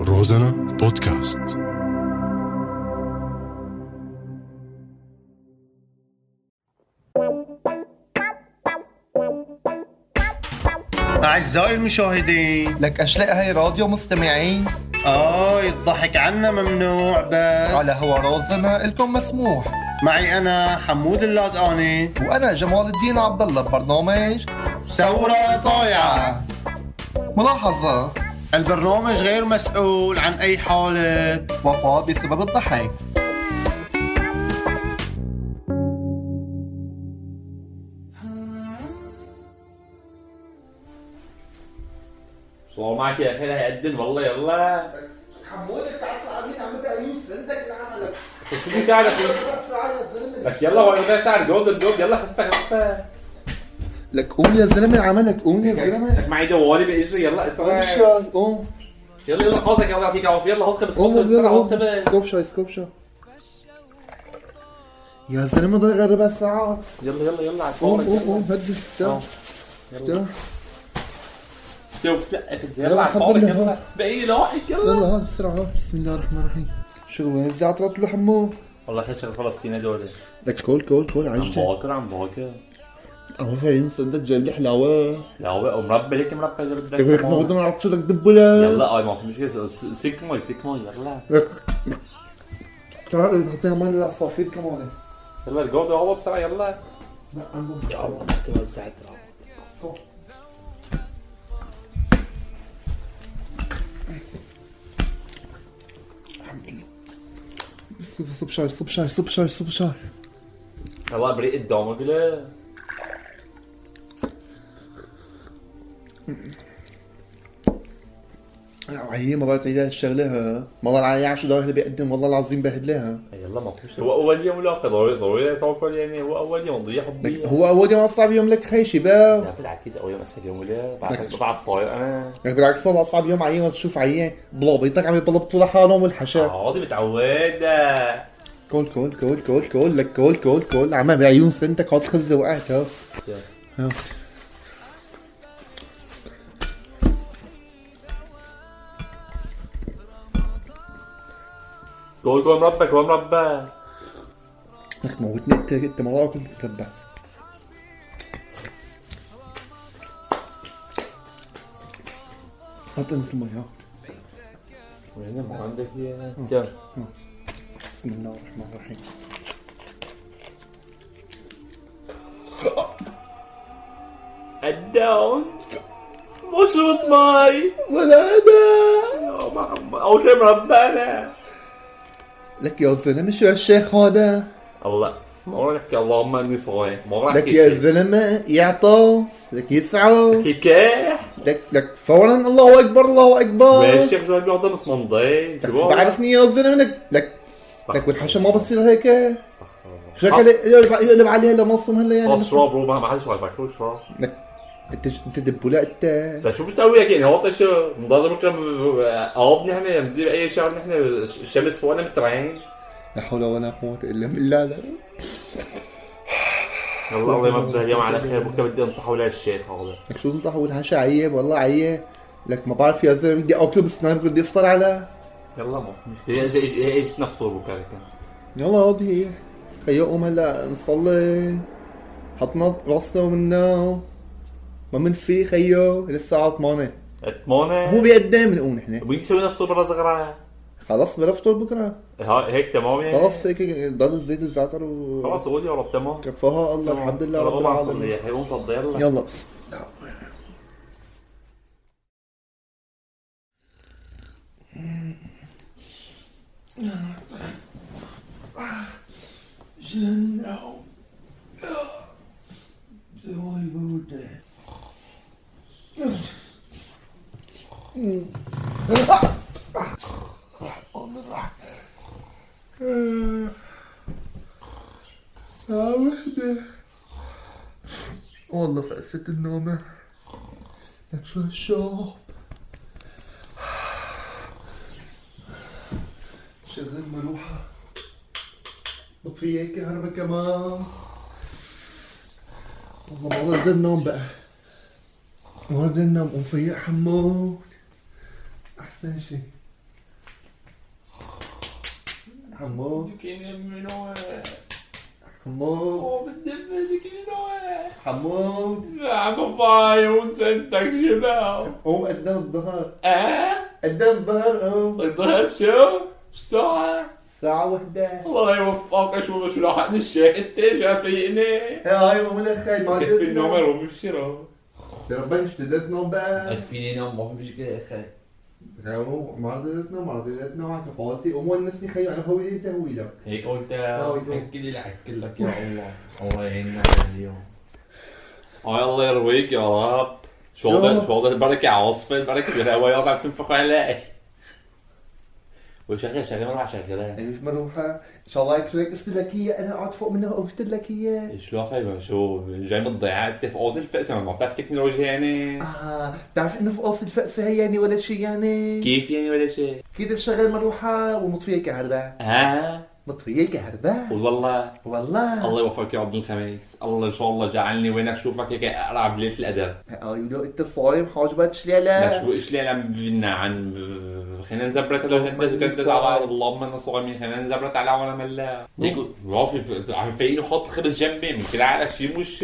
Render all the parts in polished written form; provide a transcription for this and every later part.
روزانا بودكاست. أعزائي المشاهدين، لك أشلاء هاي راديو مستمعين. الضحك عنا ممنوع، بس على هوا روزانا إلكم مسموح. معي أنا حمود اللادقاني وأنا جمال الدين عبد الله ببرنامج ثورة طايعة. ملاحظة: البرنامج غير مسؤول عن أي حالة وفاة بسبب الضحك. صور معك يا أخي هيقدم والله. يلا حمودك تعال ساعدني عم بعيون سندك لعملك. شو يساعدك لك؟ يلا هو ده ساعد جولد. يلا خفة لك قوم يا زلمة عملك، قوم يا زلمة. لك معي دوالي بإجري. يلا اسرع قوم. يلا خلصك. يلا يعطيك العافية. يلا خلص سكوب شاي. يا زلمة ضايق ربع ساعة. يلا على قوم هدي افتح. يلا على الفاضي. يلا سبقي لوحك. يلا هات بسرعة. بسم الله الرحمن الرحيم. شو وين الزعترات له حمو؟ والله خير شغل فلسطيني دول. لك كول عجل. عم باكر أهو فاهم صندوق جايب لي حلاوة او مربى. ليك مربى اللي بدك. كيف ما بدنا نعرف شو بدك دبله. يلا ما في مشكلة. سيك مي. يلا تعال حطينا مال العصافير كمان. يلا الجولد هو بسرعة. يلا لا عندهم يا الله توزعت. صب شاي. يلا بريق الدوم كله. هي ما بعرف تعيدها الشغله. ها والله العيا شو اللي بيقدم، والله العظيم بهدلها. يلا ما فيش. هو اول يوم ولا ضروري تاكل يعني. هو اول يوم ضيع حبي. هو اول يوم اصعب يوم لك خي شباب. لا بالعكس اول يوم اسهل يوم ولا بعد طاير انا. لك بالعكس والله اصعب يوم عيان. ما تشوف عيان بلابيطك عم يبلبطوا لحالهم والحشا. عادي متعود. كول لك كول عم بعيون سنتك. هات خبزه وقعت. ها كل مربى. لك موتني انت ما راكم مربى. هات انت المي. ها وين ما عندك يا بسم الله الرحمن الرحيم. الداون مش ماي ولا انا اول شيء مربانا. لك يا زلمه شو هالشيخ هذا؟ الله ما راح نحكي اللهم اني صايم. ما راح لك يا زلمه يعطس. لك يسعو. كيكاح. لك فورا الله اكبر. ماشي يا رجال بيعطي مصمندين. لك بعرفني يا زلمه. لك والحشا ما بصير هيك. شو يقلب عليها لمصم هلا يعني. اشرب ما حدش راح يشرب. انت دبوله انت. شو بتسوي يعني؟ هو شو نضل ممكن قرب نحن ندير اي شغله. نحن الشمس فوقنا مترعين. لا حول ولا قوه الا بالله. لا الله يمضي اليوم على خير. بكره بدي انطح ولا الشيخ هذا. لك شو انطح والحشا عيب والله عيب. لك ما بعرف يا زلمه بدي اكله بسنان. بدي افطر على. يلا ما مشكله. اجت نفطر بكره كان. يلا هذه هي. خيو قوم هلا نصلي. حطنا راسنا ومنا ما من في خيو للساعة 8. هو بيقدم نقوم نحن. بنسوي نفطر برا صغرى. خلاص بلا فطور بكره. هيك تمام يعني. خلاص هيك ضل الزيت الزعتر خلاص قول يا رب تمام. كفاها الله. الحمد لله رب العالمين. يا قوم تفضل. يلا جنة دوي بودة. ساعة وحدة والله فقست النومة. لك شو هالشوب. شغل مروحة. بطفي هيك كهرباء كمان. والله ما بدي النوم بقى. ما بدي النوم. ومفيق حمود أحسن شي. حمود ذكيني منو حمود بالدب ذكيني حمود عم فايون سنتك شباب قوم قدام الظهر اه قدام الظهر قوم الظهر شو الساعة الساعة 1. الله يوفقك شو لحقني الشيخ انت جا فيقني هاي مو لك خي ما كفي النوم روح بالشراء يا ربي اشتدت نوم بقى كفيني نوم ما في مشكلة يا اخي ما رضيت نوم على كفالتي قوم ونسني خي انا هوي انت هوي لك هيك قلت اكل لك يا الله الله يعيننا اليوم الله يرويك يا رب شو هذا البركة عاصفة البركة بالهوايات عم تنفخ علي وشغل ما راح شغلها ايش مروحة ان شاء الله يكرمك قلت لك هي انا قاعد فوق منها وقلت لك هي شو اخي شو جاي من الضيعة انت في قوس الفأسة ما بتعرف تكنولوجيا يعني تعرف انه في قوس الفأسة هي يعني ولا شيء يعني كيف يعني ولا شيء كده تشغل مروحة ومطفية كهرباء مطفية كهرباء والله الله يوفقك يا عبد الخميس الله ان شاء الله جعلني وينك شوفك هيك اقرا بليله الادب ايوه انت صايم حاجبات شليله شو شليله عن خلينا نزبرت لو انت كنت على اللهم انا صايمين خلينا نزبرت على ولا ملا هيك رافي عم فايقين وحط خبز جنبي ممكن عليك شيء مش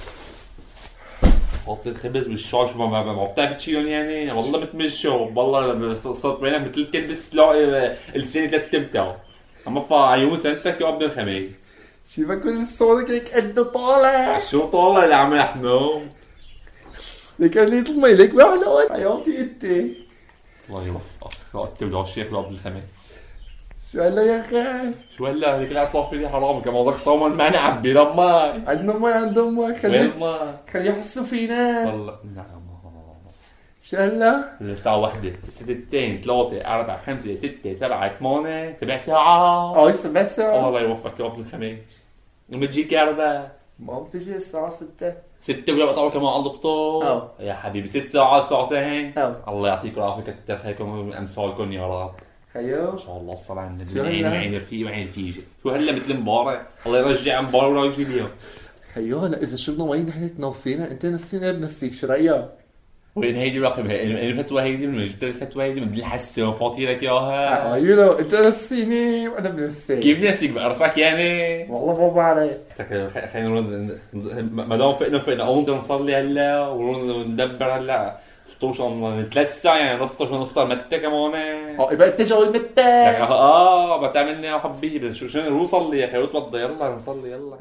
حط الخبز والشاش ما بتعرف تشيلهم يعني والله بتمشوا والله صرت بينك مثل تلبس السنه 3 اما عيون سنتك يا عبد الخميس شوفك كل صوتك هيك قد طالع شو طالع يا عم محمود لك اللي يطلع لك بحلوة حياتي انت الله يوفقك راتب له الشيخ عبد الخميس شو هلا يا اخي شو هلا هيك العصافير دي حرام كمان بدك صوما ما نعبي لما عندنا عندهم ماي خليه يحسوا فينا والله نعم شو هلا؟ الساعة 1 2 3 4 5 6 7 8 7 ساعات 7 ساعات الله يوفقك يا عبد الخميس وبتجيك كهرباء ما بتجي الساعة 6 ولا بقطعوا كمان على الفطور يا حبيبي 6 ساعات ساعتين الله يعطيكم العافية كتر خيركم امثالكم يا رب خيو ان شاء الله الصلاة على النبي عين رفيق وعين رفيجة شو هلا مثل امبارح الله يرجع امبارح ولا يجي اليوم خيو هلا اذا شربنا مي نحن نوصينا انت نسينا بنسيك شو رايك؟ وين هيدي رقم الفتوى هيدي من جبت الفتوى هيدي من الحسه وفاطي لك اياها يو انت نسيني وانا بنسيك كيف نسيك بقرصك يعني والله ما بعرف خلينا نرد ما دام فقنا قوم نصلي هلا وندبر هلا فطوش 3 ساعات يعني نفطر متى كمان يبقى انت جاي متى بتعملني يا حبيبي شو نصلي يا اخي وتوضى يلا نصلي يلا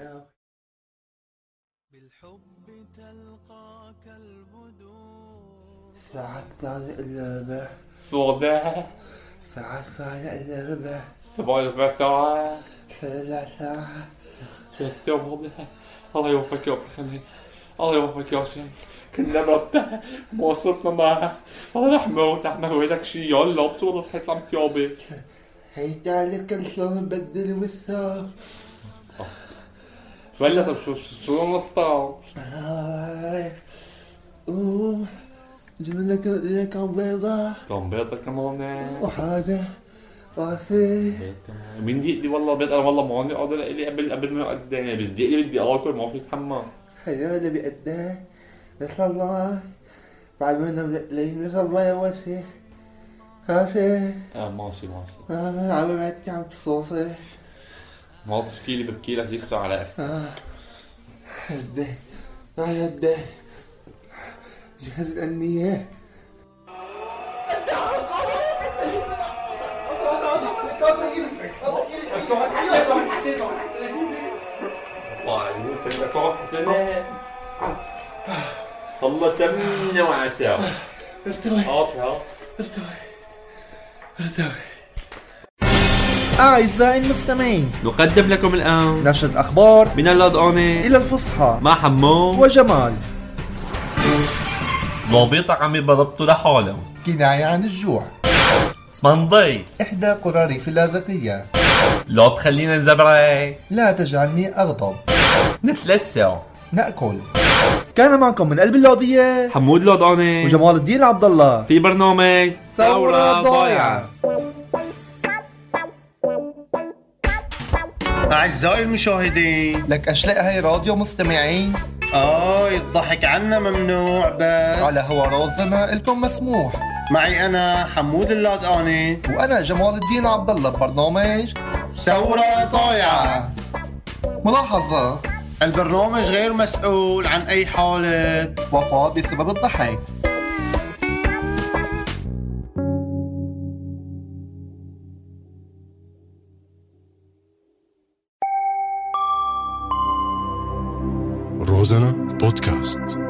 بالحب تلقاك البدور ساعات بعد اللعبة ساعات بعد اللعبة 7 ساعات 3 ساعات الله يوفقك يا عبد الخميس الله يوفقك يا شيخ كنا مرتاح مواصلتنا معها الله رحمه ويدك شي يلا بصورة حيطلع متيابك هيدا لك شلون نبدل وثاق ولا طب شو نفطر؟ جبنا لك كم بيضة كمان وهذا راسي مين دي والله بيض انا والله ما عندي قادر لي قبل ما اقدم بس بدي اكل ما في اتحمل خيالي بقدام بس الله بعد ما نلاقي بس الله يوسع ماشي ماشي عم بعدتي عم تصوصي ما تشكيلي ببكي لك يفتح على هدي هدي جهز النية والله سمنة وعسل ارتوي أعزائي المستمعين نقدم لكم الآن نشرة أخبار من اللادقانة إلى الفصحى مع حمو وجمال. ضابط عم يضربطوا لحاله كناية عن الجوع. اسمنضي إحدى قرى ريف اللاذقية. لا تخلينا نزبرك لا تجعلني أغضب. نتلسع نأكل. كان معكم من قلب اللوضية حمود اللادقانة وجمال الدين عبد الله في برنامج ثورة ضايعة. أعزائي المشاهدين لك أشلاء هاي راديو مستمعين الضحك عنا ممنوع بس على هوا رازنا إلكم مسموح. معي أنا حمود اللادقاني وأنا جمال الدين عبد الله ببرنامج ثورة طايعة. ملاحظة: البرنامج غير مسؤول عن أي حالة وفاة بسبب الضحك. روزانا بودكاست.